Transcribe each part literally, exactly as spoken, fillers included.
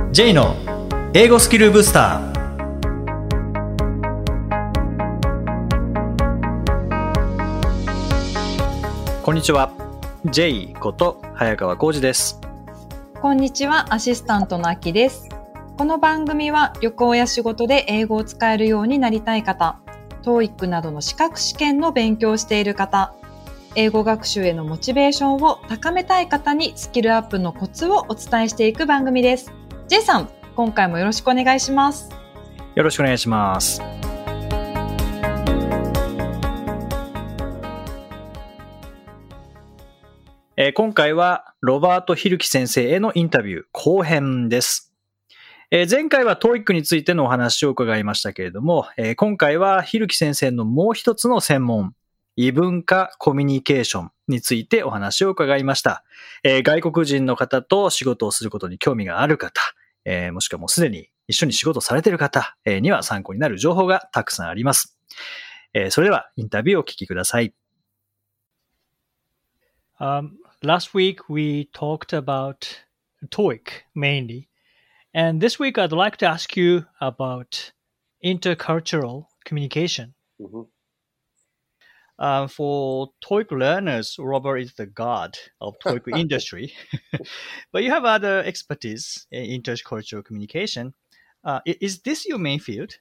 J の英語スキルブスター。こんにちは。J こと早川浩二です。 こんにちは。アシスタントのあきです。この番組は旅行や仕事で英語を使えるようになりたい方、トーイック などの資格試験の勉強をしている方、英語学習へのモチベーションを高めたい方にスキルアップのコツをお伝えしていく番組です。J さん、今回もよろしくお願いします。 よろしくお願いします。えー、今回はロバート・ヒルキ先生へのインタビュー後編です。えー、前回は トーイック についてのお話を伺いましたけれども、えー、今回はヒルキ先生のもう一つの専門、異文化コミュニケーションについてお話を伺いました。えー、外国人の方と仕事をすることに興味がある方、えー、もしくはもうすでに一緒に仕事されている方、えー、には参考になる情報がたくさんあります。えー、それではインタビューをお聞きください。 Um, last week we talked aboutトーイック mainly, and this week I'd like to ask you about intercultural communication. Mm-hmm. Uh, for トーイック learners, Robert is the god of トーイック industry, but you have other expertise in intercultural communication. Uh, is this your main field?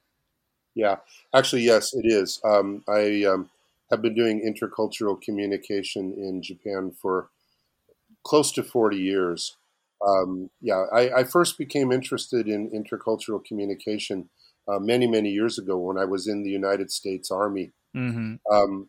Yeah, actually, yes, it is. Um, I um, have been doing intercultural communication in Japan for close to forty years. Um, yeah, I, I first became interested in intercultural communication uh, many, many years ago when I was in the United States Army. Mm-hmm. Um,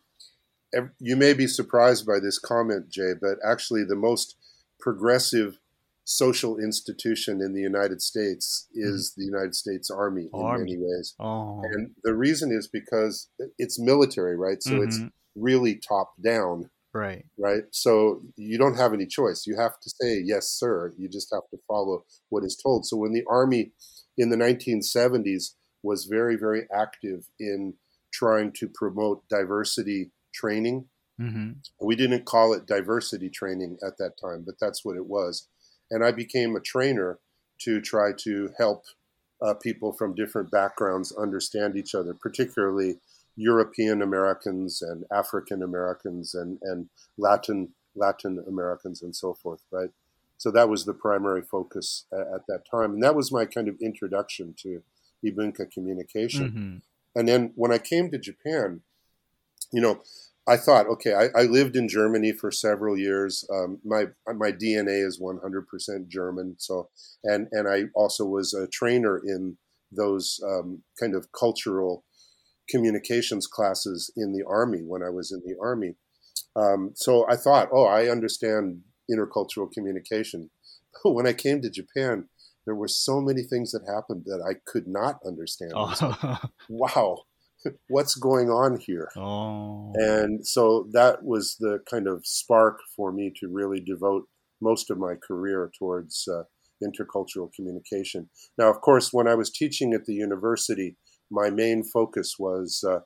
you may be surprised by this comment, Jay, but actually the most progressive social institution in the United States is mm-hmm. the United States Army in Army. many ways. Oh. And the reason is because it's military, right? So mm-hmm. it's really top down. Right. Right. So you don't have any choice. You have to say, yes, sir. You just have to follow what is told. So when the Army in the nineteen seventies was very, very active in trying to promote diversity training, mm-hmm. we didn't call it diversity training at that time, but that's what it was. And I became a trainer to try to help uh, people from different backgrounds understand each other, particularly European Americans and African Americans and, and Latin Latin Americans and so forth, right? So that was the primary focus at, at that time. And that was my kind of introduction to Ibunka communication. Mm-hmm. And then when I came to Japan, you know, I thought, okay, I, I lived in Germany for several years. Um, my my D N A is one hundred percent German. So, and, and I also was a trainer in those um, kind of cultural communications classes in the Army when I was in the Army. Um, so I thought, oh, I understand intercultural communication. But when I came to Japan, there were so many things that happened that I could not understand. Oh. Like, wow, what's going on here? Oh. And so that was the kind of spark for me to really devote most of my career towards uh, intercultural communication. Now, of course, when I was teaching at the university, my main focus was uh,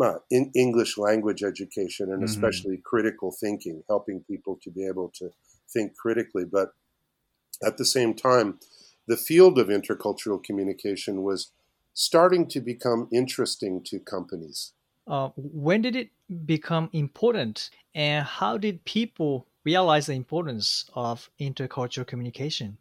in English language education and especially mm-hmm. critical thinking, helping people to be able to think critically. But at the same time, the field of intercultural communication was starting to become interesting to companies. Uh, when did it become important, and how did people realize the importance of intercultural communication?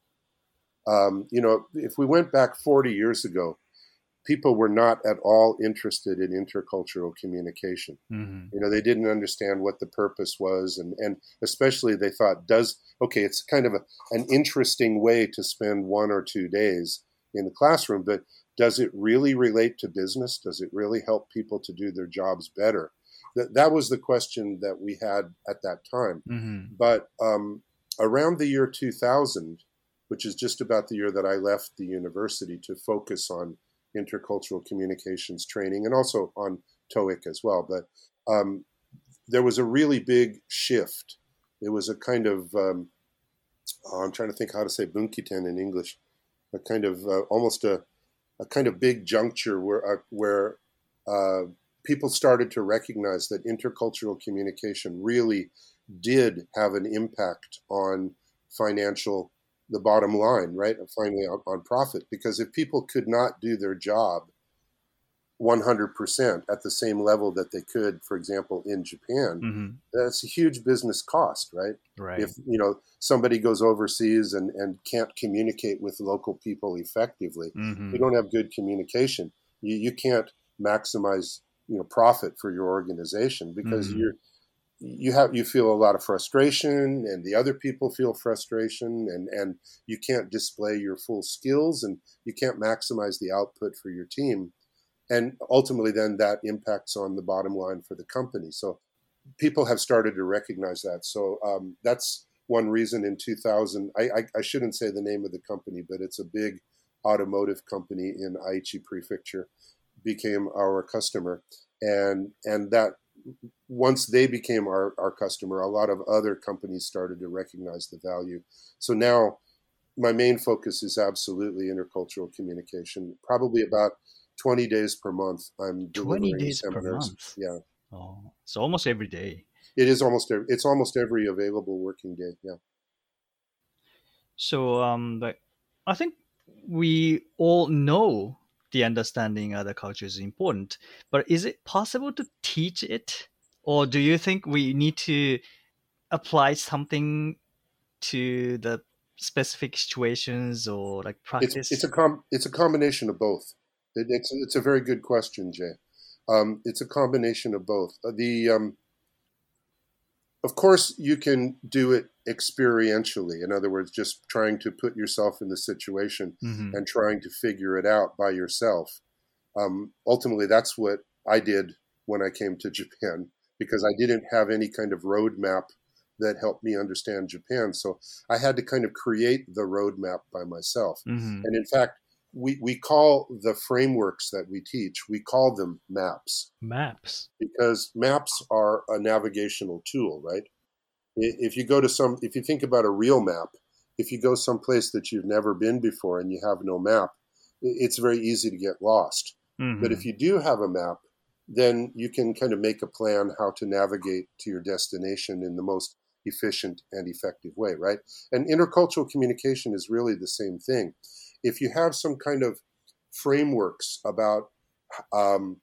Um, you know, if we went back forty years ago, people were not at all interested in intercultural communication. Mm-hmm. You know, they didn't understand what the purpose was. And, and especially they thought, does, okay, it's kind of a, an interesting way to spend one or two days in the classroom, but does it really relate to business? Does it really help people to do their jobs better? That, that was the question that we had at that time. Mm-hmm. But um, around the year two thousand, which is just about the year that I left the university to focus on intercultural communications training and also on TOEIC as well. But um, there was a really big shift. It was a kind of, um, oh, I'm trying to think how to say bunkiten in English, a kind of uh, almost a, a kind of big juncture where, uh, where uh, people started to recognize that intercultural communication really did have an impact on financial the bottom line, right? Finally on, on profit, because if people could not do their job one hundred percent at the same level that they could, for example, in Japan, Mm-hmm. that's a huge business cost, right? Right. If, you know, somebody goes overseas and, and can't communicate with local people effectively, Mm-hmm. you don't have good communication. You, you can't maximize, you know, profit for your organization because Mm-hmm. you're, you have, you feel a lot of frustration and the other people feel frustration and, and you can't display your full skills and you can't maximize the output for your team. And ultimately then that impacts on the bottom line for the company. So people have started to recognize that. So um, that's one reason in two thousand, I, I, I shouldn't say the name of the company, but it's a big automotive company in Aichi Prefecture, became our customer. And, and that once they became our, our customer, a lot of other companies started to recognize the value. So now my main focus is absolutely intercultural communication. Probably about twenty days per month I'm twenty delivering days per seminars. month. Yeah. Oh, so almost every day. It is almost every, it's almost every available working day. Yeah. So um, like, I think we all know the understanding other cultures is important, but is it possible to teach it, or do you think we need to apply something to the specific situations or like It's practice? it's a com it's a combination of both. It, it's it's a very good question, Jay. Um, it's a combination of both. Uh, The um, of course you can do it experientially. In other words, just trying to put yourself in the situation Mm-hmm. and trying to figure it out by yourself. Um, ultimately, that's what I did when I came to Japan because I didn't have any kind of roadmap that helped me understand Japan. So I had to kind of create the roadmap by myself. Mm-hmm. And in fact, we, we call the frameworks that we teach, we call them maps Maps. because maps are a navigational tool, right? I- If you go to some, if you think about a real map, if you go someplace that you've never been before and you have no map, i- it's very easy to get lost. Mm-hmm. But if you do have a map, then you can kind of make a plan how to navigate to your destination in the most efficient and effective way, right? And intercultural communication is really the same thing. If you have some kind of frameworks about um,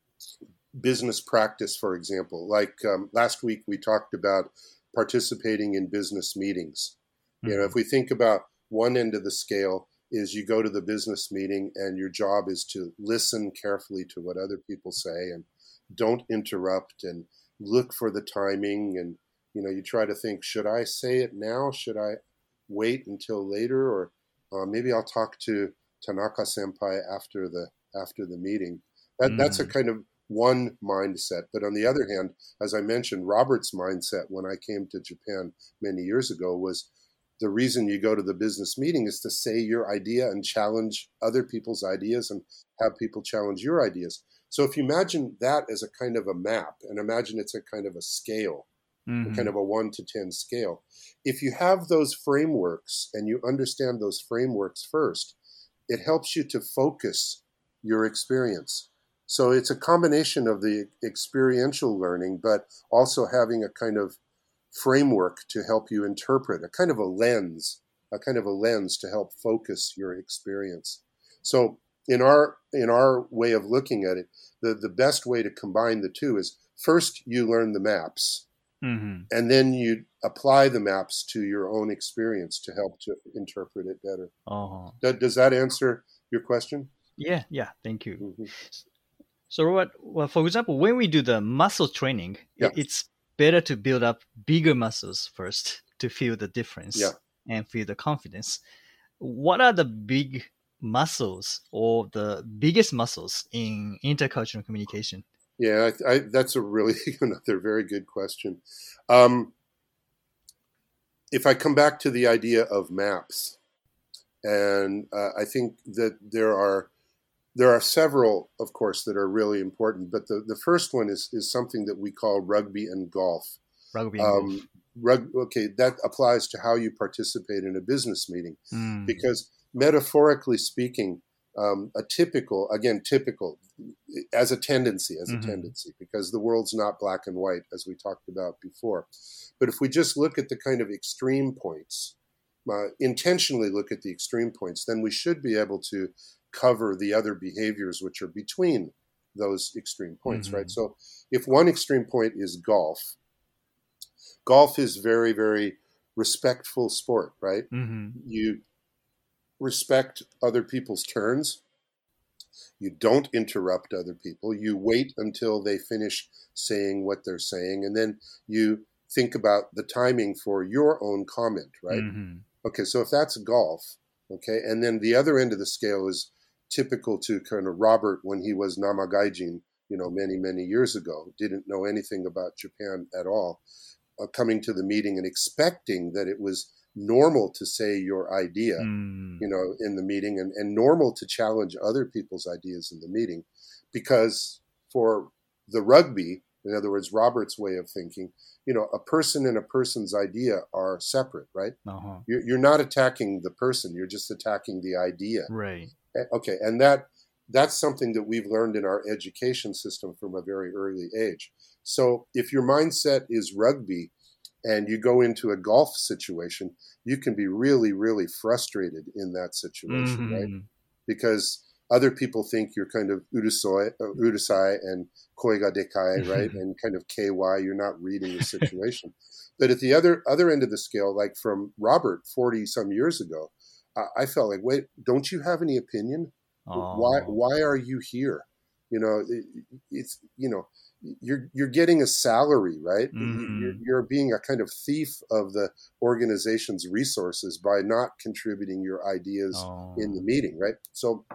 business practice, for example, like um, last week we talked about participating in business meetings. Mm-hmm. You know, if we think about one end of the scale is you go to the business meeting and your job is to listen carefully to what other people say and don't interrupt and look for the timing. And, you know, you try to think, should I say it now? Should I wait until later? Or uh, maybe I'll talk to Tanaka Senpai after the, after the meeting. That, Mm-hmm. That's a kind of one mindset. But on the other hand, as I mentioned, Robert's mindset when I came to Japan many years ago was the reason you go to the business meeting is to say your idea and challenge other people's ideas and have people challenge your ideas. So if you imagine that as a kind of a map and imagine it's a kind of a scale, Mm-hmm. a kind of a one to ten scale, if you have those frameworks and you understand those frameworks first, it helps you to focus your experience. So it's a combination of the experiential learning, but also having a kind of framework to help you interpret, a kind of a lens, a kind of a lens to help focus your experience. So in our in our way of looking at it, the, the best way to combine the two is first you learn the maps, Mm-hmm. and then you apply the maps to your own experience to help to interpret it better. Uh-huh. That, does that answer your question? Yeah, yeah, thank you. Mm-hmm. So, Robert, well, for example, when we do the muscle training, Yeah. it, it's better to build up bigger muscles first to feel the difference Yeah. and feel the confidence. What are the big muscles or the biggest muscles in intercultural communication? Yeah, I, I, that's a really another very good question. Um, if I come back to the idea of maps, and uh, I think that there are there are several, of course, that are really important. But the, the first one is is something that we call rugby and golf. Rugby and golf. Um, rug, okay, that applies to how you participate in a business meeting, Mm. because metaphorically speaking, um, a typical, again, typical, as a tendency, as a Mhm. tendency, because the world's not black and white, as we talked about before. But if we just look at the kind of extreme points, uh, intentionally look at the extreme points, then we should be able to cover the other behaviors which are between those extreme points, Mm-hmm. right? So if one extreme point is golf, golf is very, very respectful sport, right? Mm-hmm. You respect other people's turns. You don't interrupt other people. You wait until they finish saying what they're saying, and then you think about the timing for your own comment, right? Mm-hmm. Okay, so if that's golf, okay, and then the other end of the scale is typical to kind of Robert when he was Namagaijin, you know, many, many years ago, didn't know anything about Japan at all, uh, coming to the meeting and expecting that it was normal to say your idea, Mm-hmm. you know, in the meeting, and, and normal to challenge other people's ideas in the meeting, because for the rugby, in other words, Robert's way of thinking, you know, a person and a person's idea are separate, right? Uh-huh. You're, you're not attacking the person, you're just attacking the idea. Right. Okay, and that that's something that we've learned in our education system from a very early age. So if your mindset is rugby and you go into a golf situation, you can be really, really frustrated in that situation, Mm-hmm. right? Because other people think you're kind of urusoi, uh, urusai and koi ga dekai, right? And kind of K Y, you're not reading the situation. But at the other other end of the scale, like from Robert forty some years ago, I felt like, wait, don't you have any opinion? Oh. Why why are you here? You know, it, it's you know, you're you're getting a salary, right? Mm-hmm. You're, you're being a kind of thief of the organization's resources by not contributing your ideas Oh. in the meeting, right? So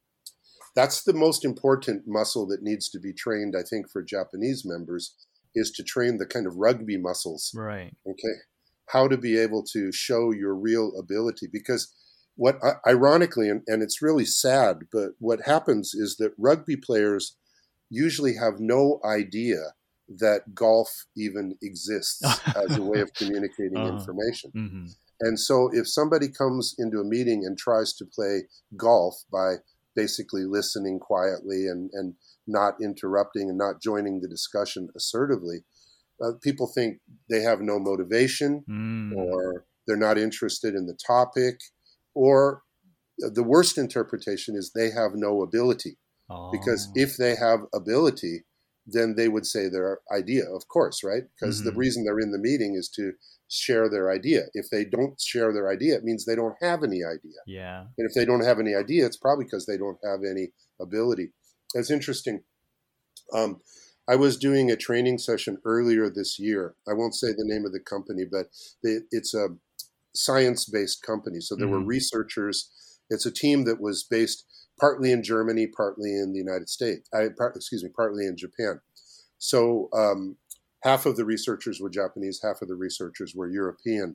that's the most important muscle that needs to be trained, I think, for Japanese members, is to train the kind of rugby muscles. Right. Okay, how to be able to show your real ability, because what ironically, and, and it's really sad, but what happens is that rugby players usually have no idea that golf even exists as a way of communicating uh-huh. information. Mm-hmm. And so if somebody comes into a meeting and tries to play golf by basically listening quietly and, and not interrupting and not joining the discussion assertively, uh, people think they have no motivation, mm. or they're not interested in the topic, or the worst interpretation is they have no ability. Oh. Because if they have ability, then they would say their idea, of course, right? Because mm-hmm. the reason they're in the meeting is to share their idea. If they don't share their idea, it means they don't have any idea. Yeah. And if they don't have any idea, it's probably because they don't have any ability. It's interesting. Um, I was doing a training session earlier this year. I won't say the name of the company, but they, it's a science-based company. So there mm-hmm. were researchers. It's a team that was based partly in Germany, partly in the United States. I, part, excuse me, partly in Japan. So um, half of the researchers were Japanese, half of the researchers were European.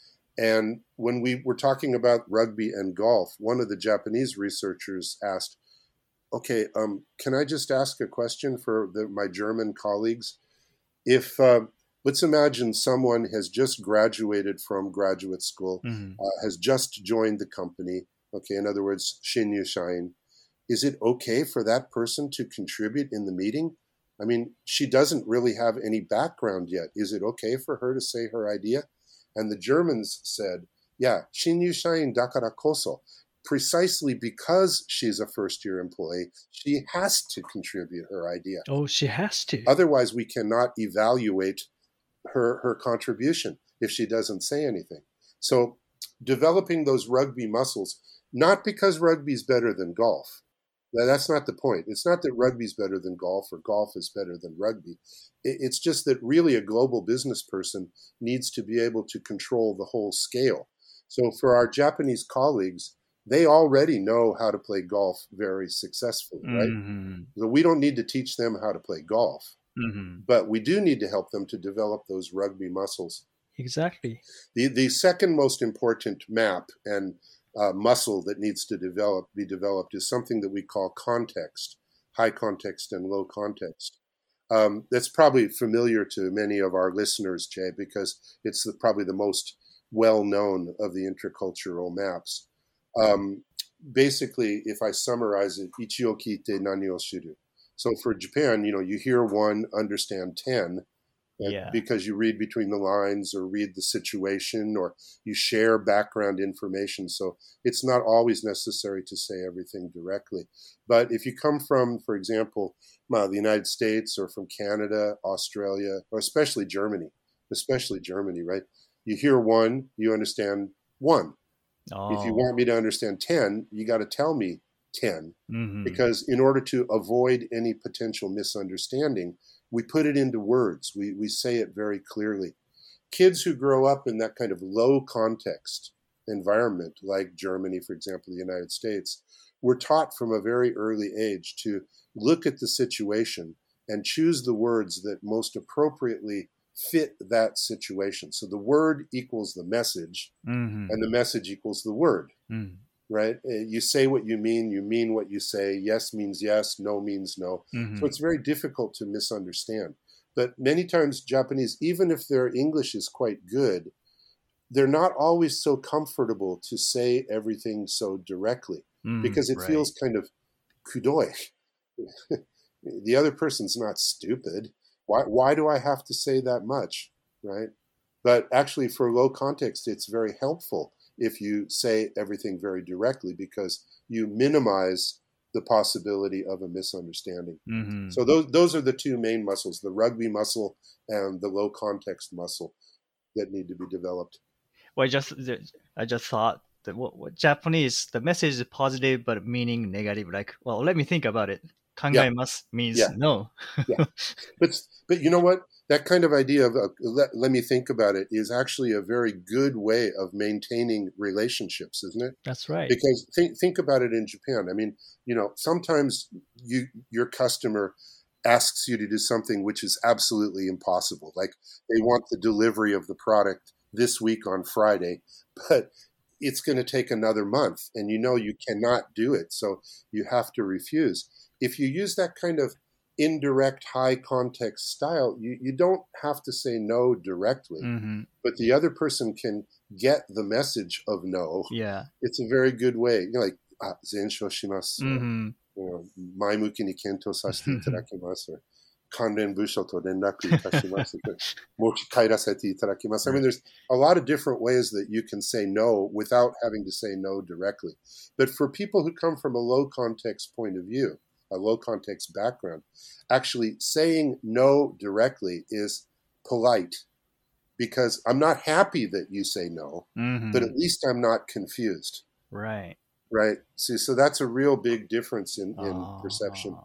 And when we were talking about rugby and golf, one of the Japanese researchers asked, okay, um, can I just ask a question for the, my German colleagues? If, uh, let's imagine someone has just graduated from graduate school, mm-hmm. uh, has just joined the company, okay, in other words, Shinyushain, is it okay for that person to contribute in the meeting? I mean, she doesn't really have any background yet. Is it okay for her to say her idea? And the Germans said, yeah, Shinyushain dakara koso. Precisely because she's a first-year employee, she has to contribute her idea. Oh, she has to. Otherwise, we cannot evaluate her, her contribution if she doesn't say anything. So developing those rugby muscles, not because rugby is better than golf. That's not the point. It's not that rugby is better than golf or golf is better than rugby. It's just that really a global business person needs to be able to control the whole scale. So for our Japanese colleagues, they already know how to play golf very successfully, right? Mm-hmm. So we don't need to teach them how to play golf, mm-hmm. but we do need to help them to develop those rugby muscles. Exactly. The the second most important map and uh, muscle that needs to develop be developed is something that we call context, high context and low context. Um, that's probably familiar to many of our listeners, Jay, because it's the, probably the most well-known of the intercultural maps. Um, basically, if I summarize it, ichi o kite nani o shiru. So for Japan, you know, you hear one, understand ten. Yeah. Because you read between the lines or read the situation or you share background information. So it's not always necessary to say everything directly. But if you come from, for example, uh, the United States or from Canada, Australia, or especially Germany, especially Germany, right? You hear one, you understand one. Oh. If you want me to understand ten, you got to tell me ten. Mm-hmm. Because in order to avoid any potential misunderstanding, we put it into words. We we say it very clearly. Kids who grow up in that kind of low context environment, like Germany, for example, the United States, were taught from a very early age to look at the situation and choose the words that most appropriately fit that situation. So the word equals the message, mm-hmm. and the message equals the word. Mm-hmm. Right? You say what you mean, you mean what you say. Yes means yes, no means no. Mm-hmm. So it's very difficult to misunderstand. But many times Japanese, even if their English is quite good, they're not always so comfortable to say everything so directly mm, because it right. feels kind of kudoi. The other person's not stupid. Why, why do I have to say that much, right? But actually for low context, it's very helpful if you say everything very directly because you minimize the possibility of a misunderstanding. Mm-hmm. So those those are the two main muscles, the rugby muscle and the low context muscle that need to be developed. Well, I just I just thought that what, what Japanese, the message is positive but meaning negative. Like, well, let me think about it. Kangaemasu yeah. means yeah. no. yeah. But but you know what? That kind of idea of uh, let, let me think about it is actually a very good way of maintaining relationships, isn't it? That's right. Because think think about it in Japan. I mean, you know, sometimes you your customer asks you to do something which is absolutely impossible. Like they want the delivery of the product this week on Friday, but it's going to take another month and you know you cannot do it. So you have to refuse. If you use that kind of indirect high context style, you, you don't have to say no directly, mm-hmm. but the other person can get the message of no. Yeah. It's a very good way. You know, like, ah, zensho shimasu, mm-hmm. you know, maimuki ni kento sasete itadakimasu, or kanren busho to renraku itashimasu, mochi kairasete itadakimasu. I mean, there's a lot of different ways that you can say no without having to say no directly. But for people who come from a low context point of view, a low context background, actually saying no directly is polite because I'm not happy that you say no, mm-hmm. but at least I'm not confused. Right. Right. See, so that's a real big difference in, in oh. perception.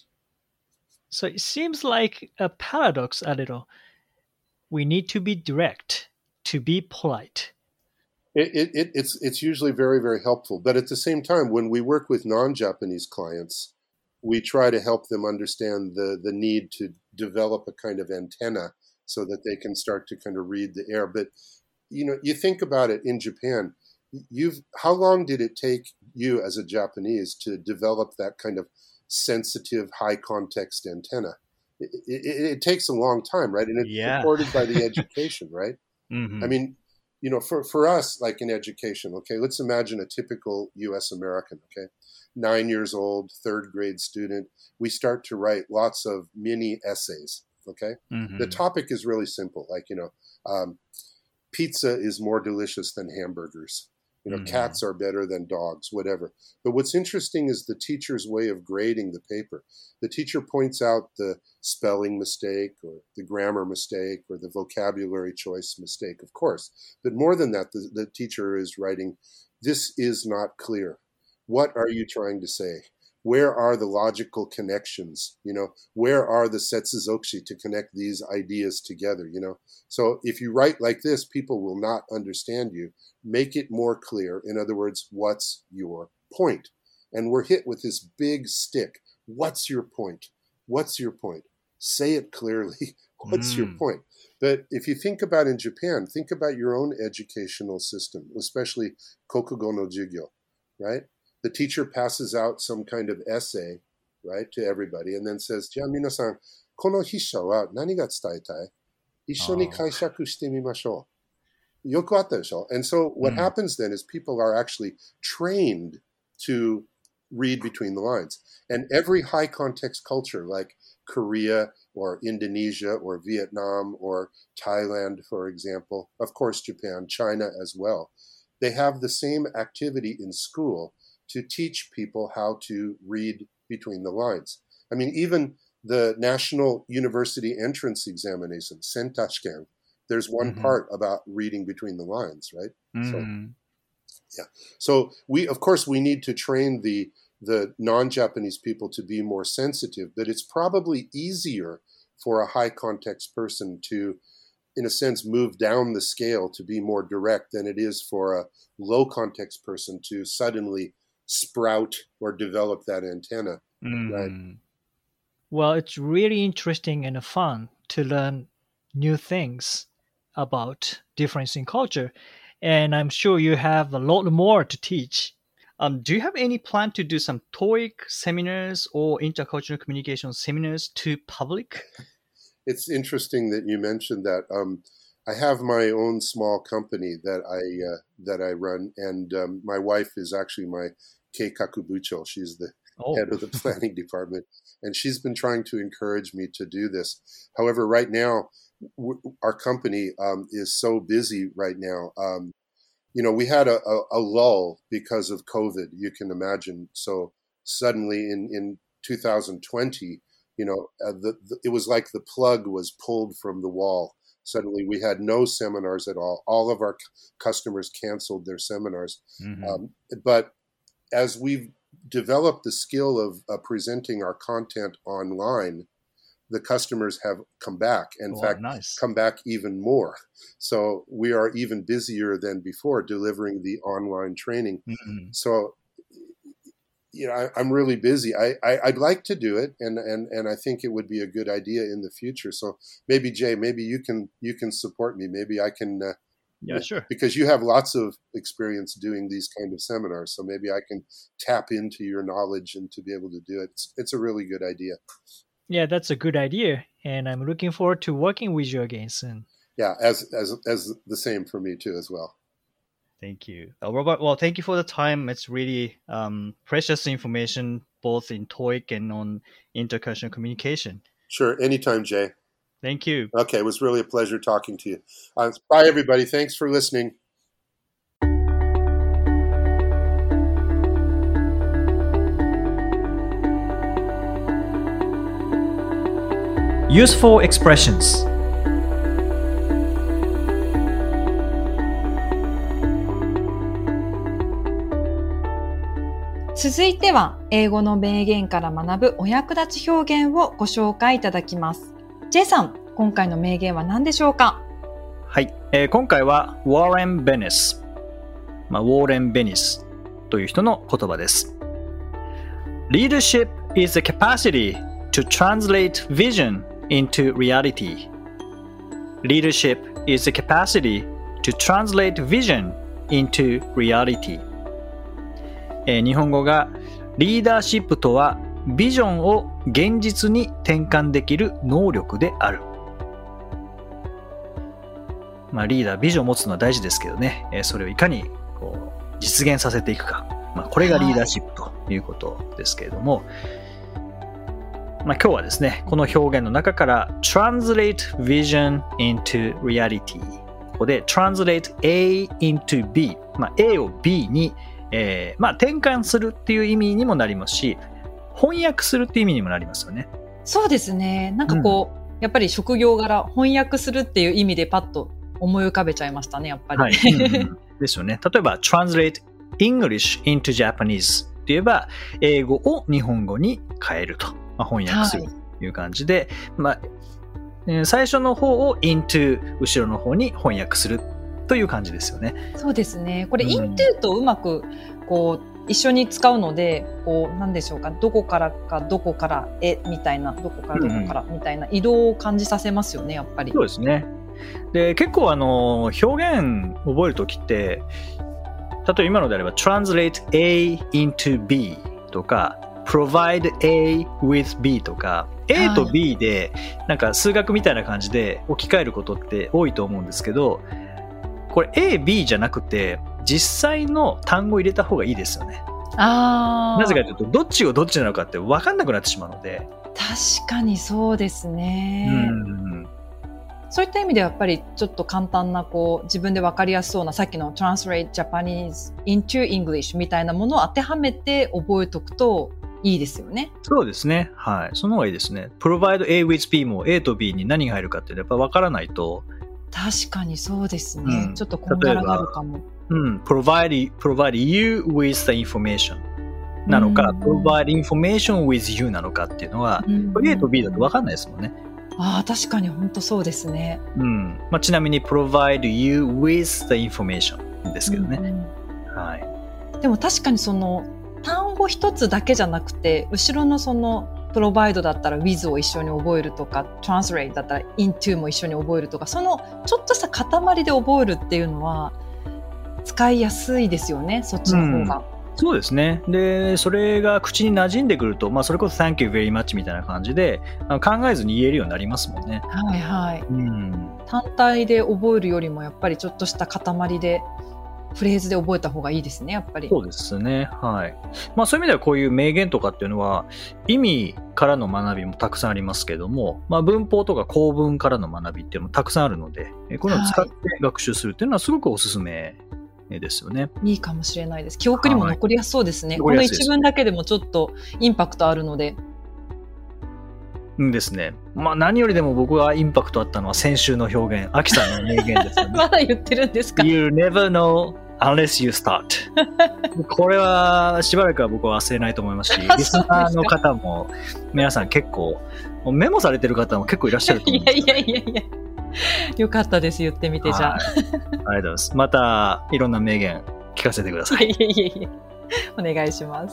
So it seems like a paradox a little. We need to be direct to be polite. It, it, it, it's, it's usually very, very helpful. But at the same time, when we work with non-Japanese clients, we try to help them understand the, the need to develop a kind of antenna so that they can start to kind of read the air. But, you know, you think about it in Japan, you've how long did it take you as a Japanese to develop that kind of sensitive, high context antenna? It, it, it takes a long time, right? And it's yeah. supported by the education, right? Mm-hmm. I mean, you know, for, for us, like in education, okay, let's imagine a typical U S American, okay? Nine years old, third grade student, we start to write lots of mini essays, okay? Mm-hmm. The topic is really simple, like, you know, um, pizza is more delicious than hamburgers. You know, mm-hmm. cats are better than dogs, whatever. But what's interesting is the teacher's way of grading the paper. The teacher points out the spelling mistake or the grammar mistake or the vocabulary choice mistake, of course. But more than that, the, the teacher is writing, this is not clear. What are you trying to say? Where are the logical connections? You know, where are the setsuzokushi to connect these ideas together? You know, so if you write like this, people will not understand you. Make it more clear. In other words, what's your point? And we're hit with this big stick. What's your point? What's your point? Say it clearly. What's mm. your point? But if you think about in Japan, think about your own educational system, especially kokugo no jugyo, right? The teacher passes out some kind of essay, right, to everybody, and then says, "じゃあ皆さん、この筆者は何が伝えたい？一緒に解釈してみましょう." よくあったでしょ? And so what mm. happens then is people are actually trained to read between the lines. And every high context culture like Korea or Indonesia or Vietnam or Thailand, for example, of course Japan, China as well, they have the same activity in school to teach people how to read between the lines. I mean, even the National University Entrance Examination, Sentashken, there's one mm-hmm. part about reading between the lines, right? Mm-hmm. So, yeah. So we, of course, we need to train the the non-Japanese people to be more sensitive, but it's probably easier for a high context person to, in a sense, move down the scale to be more direct than it is for a low context person to suddenly sprout or develop that antenna, mm. right? Well, it's really interesting and fun to learn new things about difference in culture. And I'm sure you have a lot more to teach. Um, do you have any plan to do some TOEIC seminars or intercultural communication seminars to public? It's interesting that you mentioned that. Um, I have my own small company that I uh, that I run, and um, my wife is actually my keikaku bucho. She's the oh. head of the planning department, and she's been trying to encourage me to do this. However, right now, w- our company um, is so busy right now. Um, you know, we had a, a, a lull because of COVID, you can imagine. So suddenly in, in two thousand twenty, you know, uh, the, the, it was like the plug was pulled from the wall. Suddenly we had no seminars at all. All of our c- customers canceled their seminars. Mm-hmm. Um, but as we've developed the skill of uh, presenting our content online, the customers have come back. In oh, fact, nice. come back even more. So we are even busier than before delivering the online training. Mm-hmm. So, you know, I, I'm really busy. I, I, I'd like to do it, and, and, and I think it would be a good idea in the future. So maybe, Jay, maybe you can you can support me. Maybe I can. Uh, yeah, sure. Because you have lots of experience doing these kind of seminars. So maybe I can tap into your knowledge and to be able to do it. It's, it's a really good idea. Yeah, that's a good idea, and I'm looking forward to working with you again soon. Yeah, as as as the same for me too as well. Thank you, uh, Robert. Well, thank you for the time. It's really um, precious information, both in TOEIC and on intercultural communication. Sure, anytime, Jay. Thank you. Okay, it was really a pleasure talking to you. Uh, bye, everybody. Thanks for listening. Useful expressions. 続いては英語の名言から学ぶお役立ち表現をご紹介いただきます。J さん、今回の名言は何でしょうか？ はい、えー、今回はウォーレン・ベニス、まあ、ウォーレン・ベニスという人の言葉です。Leadership is the capacity to translate vision into reality. Leadership is the capacity to translate vision into reality. えー、日本語がリーダーシップとはビジョンを現実に転換できる能力である。まあ、リーダービジョンを持つのは大事ですけどね、えー、それをいかにこう実現させていくか、まあ、これがリーダーシップということですけれども、まあ、今日はですね、この表現の中から translate vision into reality、 ここで translate A into B、まあ、A を B に、えーまあ、転換するっていう意味にもなりますし、翻訳するっていう意味にもなりますよね。 そうですね。なんかこう、うん、やっぱり職業柄翻訳するっていう意味でパッと思い浮かべちゃいましたね、やっぱり。はい、うんうん、 ですよね。例えば translate English into Japanese って言えば英語を日本語に変えると、まあ、翻訳するという感じで、はい、まあ、最初の方を into 後ろの方に翻訳するという感じですよね。 そうですね。これ、うん、into とうまくこう一緒に使うので、こうなんでしょうか、どこからかどこからへみたいな、どこからどこからみたいな移動を感じさせますよね、やっぱり。 そうですね。で、結構あの表現覚えるときって、例えば今のであれば translate A into B とか provide A with B とか A と B でなんか数学みたいな感じで置き換えることって多いと思うんですけど、これ A、B じゃなくて実際の単語を入れた方がいいですよね。 あー。 なぜかというと、どっちがどっちなのかって分かんなくなってしまうので。 確かにそうですね。 うんそういった意味ではやっぱりちょっと簡単なこう自分で分かりやすそうなさっきの Translate Japanese into English みたいなものを当てはめて覚えておくといいですよね。 そうですね。はい。その方がいいですね。provide A with B も A と B に何が入るかってやっぱ分からないと。 確かにそうですね。 うんちょっとこんがらがるかも。 うん。provide, provide you with the information なのか、 うん provide information with you なのかっていうのは、 うん A と B だと分かんないですもんね。 ああ、確かに本当そうですね。 うん。まあ、ちなみに provide you with the information ですけどね。 うんうんはい。 でも確かにその単語一つだけじゃなくて、後ろのそのプロバイドだったら with を一緒に覚えるとか、translate だったら into も一緒に覚えるとか、そのちょっとした塊で覚えるっていうのは使いやすいですよね、そっちの方が。 そうですね。で、それが口に馴染んでくると、まあ、それこそ Thank you very much みたいな感じで、あの考えずに言えるようになりますもんね。 はいはい。 うん。 単体で覚えるよりもやっぱりちょっとした塊でフレーズで覚えた方がいいですね、やっぱり。 そうですね。はい。まあ、そういう意味ではこういう名言とかっていうのは、意味からの学びもたくさんありますけども、まあ、文法とか構文からの学びっていうのもたくさんあるので、こういうのを使って学習するっていうのはすごくおすすめですよね。 いいかもしれないです。記憶にも残りやすそうですね。 はい、 この一文だけでもちょっとインパクトあるので。 うんですね。まあ何よりでも僕はインパクトあったのは先週の表現、アキさんの名言ですよね。 まだ言ってるんですか？ You never know unless you start. これはしばらくは僕は忘れないと思いますし、リスナーの方も皆さん結構メモされてる方も結構いらっしゃると思うんですよ、ね。 いやいやいやいや。よかったです、言ってみて、じゃあ。 ありがとうございます。またいろんな名言聞かせてください。 いやいやいやいや。お願いします。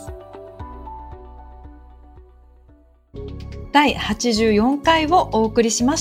だいはちじゅうよんかいをお送りしました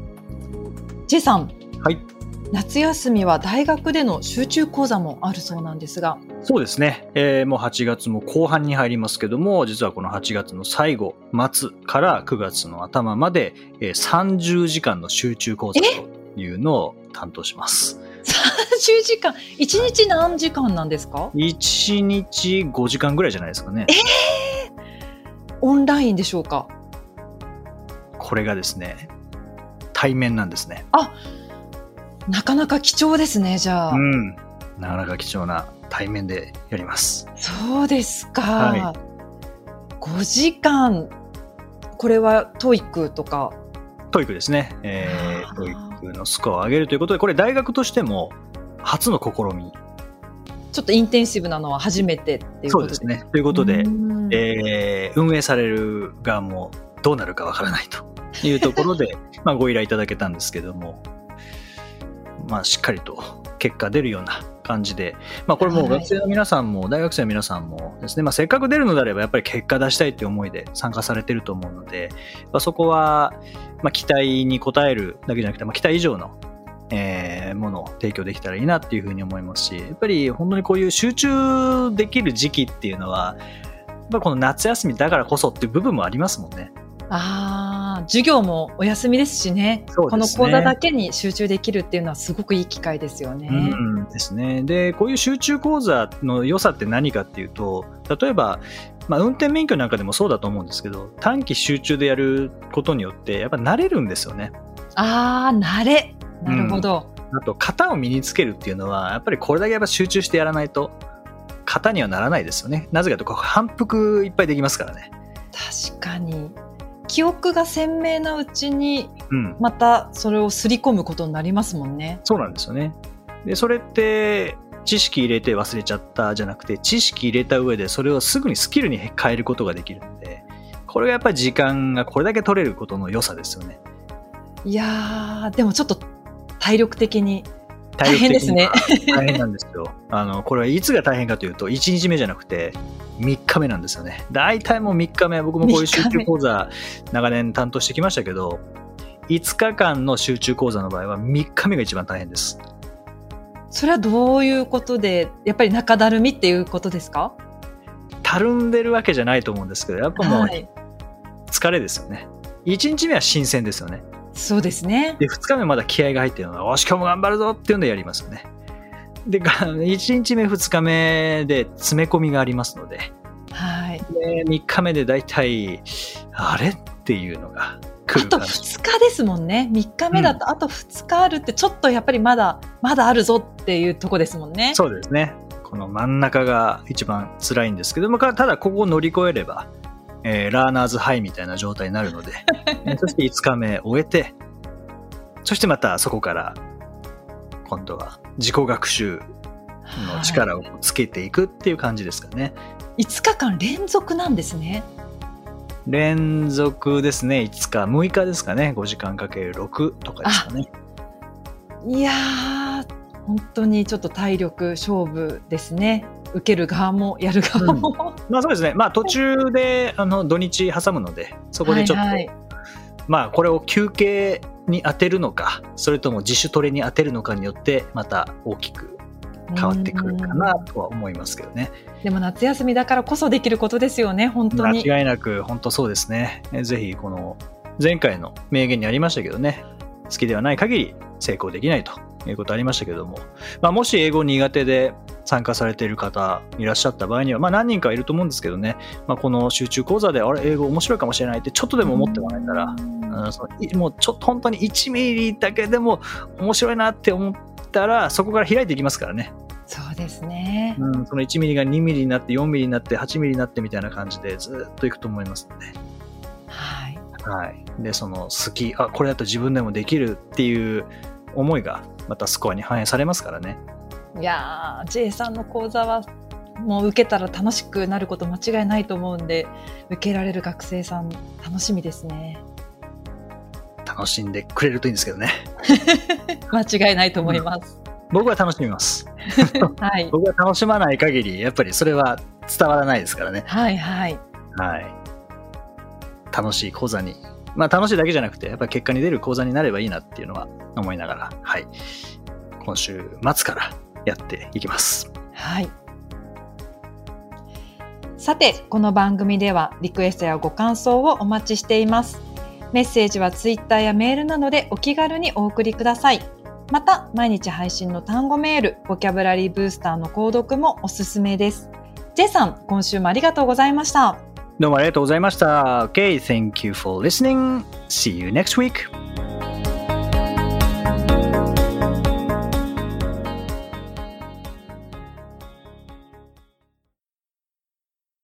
。J さん。 はい。 夏休みは大学での集中講座もあるそうなんですが。 そうですね、えー、もうはちがつも後半に入りますけども、実はこのはちがつの最後末からくがつの頭まで、えー、さんじゅうじかんの集中講座というのを担当します。 さんじゅうじかん、いちにち何時間なんですか？ いちにちごじかんぐらいじゃないですかね。 えー、オンラインでしょうか？ これがですね、対面なんですね。 あ、なかなか貴重ですね、じゃあ。 うん。なかなか貴重な対面でやります。 そうですか。 はい、 ごじかん。これは トーイック とか。 トーイック ですね。えー、トーイック のスコアを上げるということで、これ大学としても初の試み。 ちょっとインテンシブなのは初めてっていうことですね。 そうですね。ということで、えー、運営される側もどうなるかわからないというところで、まあご依頼いただけたんですけども、まあしっかりと結果出るような感じで、まあこれもう学生の皆さんも大学生の皆さんもですね、まあせっかく出るのであればやっぱり結果出したいっていう思いで参加されてると思うので、まあ、そこはまあ期待に応えるだけじゃなくて、まあ期待以上のえー、ものを提供できたらいいなっていうふうに思いますし、やっぱり本当にこういう集中できる時期っていうのはやっぱこの夏休みだからこそっていう部分もありますもんね。 ああ、授業もお休みですしね。 そうですね。 この講座だけに集中できるっていうのはすごくいい機会ですよね。 うんですね。で、こういう集中講座の良さって何かっていうと、例えば、まあ、運転免許なんかでもそうだと思うんですけど、短期集中でやることによってやっぱ慣れるんですよね。 ああ、慣れ。なるほど、 うん、あと型を身につけるっていうのはやっぱりこれだけやっぱ集中してやらないと型にはならないですよね。なぜかというと反復いっぱいできますからね。 確かに記憶が鮮明なうちにまたそれをすり込むことになりますもんね、 うん、そうなんですよね。でそれって知識入れて忘れちゃったじゃなくて、知識入れた上でそれをすぐにスキルに変えることができるので、これがやっぱり時間がこれだけ取れることの良さですよね。 いやー、でもちょっと体力的に大変ですね。 大変なんですよ。あのこれはいつが大変かというといちにちめじゃなくてみっかめなんですよね。大体もうみっかめ、僕もこういう集中講座長年担当してきましたけど、いつかかんの集中講座の場合はみっかめが一番大変です。 それはどういうことで、やっぱり中だるみっていうことですか？ たるんでるわけじゃないと思うんですけど、やっぱもう疲れですよね。いちにちめは新鮮ですよね。 そうですね。 でふつかめまだ気合が入ってるのは、よし今日も頑張るぞっていうのでやりますよね。 で、いちにちめ、ふつかめで詰め込みがありますので、 はい。 でみっかめでだいたい、あれっていうのが来あとる感じ。 ふつかですもんね。みっかめだとあとふつかあるって、ちょっとやっぱりまだ、まだあるぞっていうとこですもんね。 そうですね。この真ん中が一番辛いんですけども、ただここを乗り越えれば、えー、ラーナーズハイみたいな状態になるので、そしていつかめ終えて、そしてまたそこから今度は自己学習の力をつけていくっていう感じですかね。 いつかかん連続なんですね。 連続ですね。いつか、むいかですかね。ごじかんかけるろくとかですかね。 いやー、本当にちょっと体力勝負ですね。受ける側もやる側も、うん、 まあそうですね。まあ途中であの土日挟むので、そこでちょっと、はいはい、まあこれを休憩に当てるのか、それとも自主トレに当てるのかによってまた大きく変わってくるかなとは思いますけどね。 でも夏休みだからこそできることですよね、本当に。 間違いなく本当そうですね。ぜひこの前回の名言にありましたけどね、好きではない限り成功できないということありましたけども、まあ、もし英語苦手で参加されている方いらっしゃった場合には、まあ、何人かいると思うんですけどね、まあ、この集中講座であれ英語面白いかもしれないってちょっとでも思ってもらえたら、うん、そのもうちょっと本当にいちミリだけでも面白いなって思ったらそこから開いていきますからね。 そうですね、 うん、そのいちミリがにミリになってよんミリになってはちミリになってみたいな感じでずっといくと思いますので、 はいはい、でその好き、あこれだと自分でもできるっていう思いがまたスコアに反映されますからね。 いやー J さんの講座はもう受けたら楽しくなること間違いないと思うんで、受けられる学生さん楽しみですね。 楽しんでくれるといいんですけどね。 間違いないと思います、 うん、僕は楽しみます、 はい、 僕は楽しまない限りやっぱりそれは伝わらないですからね。 はいはいはい、楽しい講座に、まあ楽しいだけじゃなくてやっぱり結果に出る講座になればいいなっていうのは思いながら、はい、今週末からやっていきます。 はい。さて、この番組ではリクエストやご感想をお待ちしています。メッセージはツイッターやメールなどでお気軽にお送りください。また、毎日配信の単語メール、ボキャブラリーブースターの購読もおすすめです。J さん、今週もありがとうございました。 どうもありがとうございました。Okay, thank you for listening. See you next week.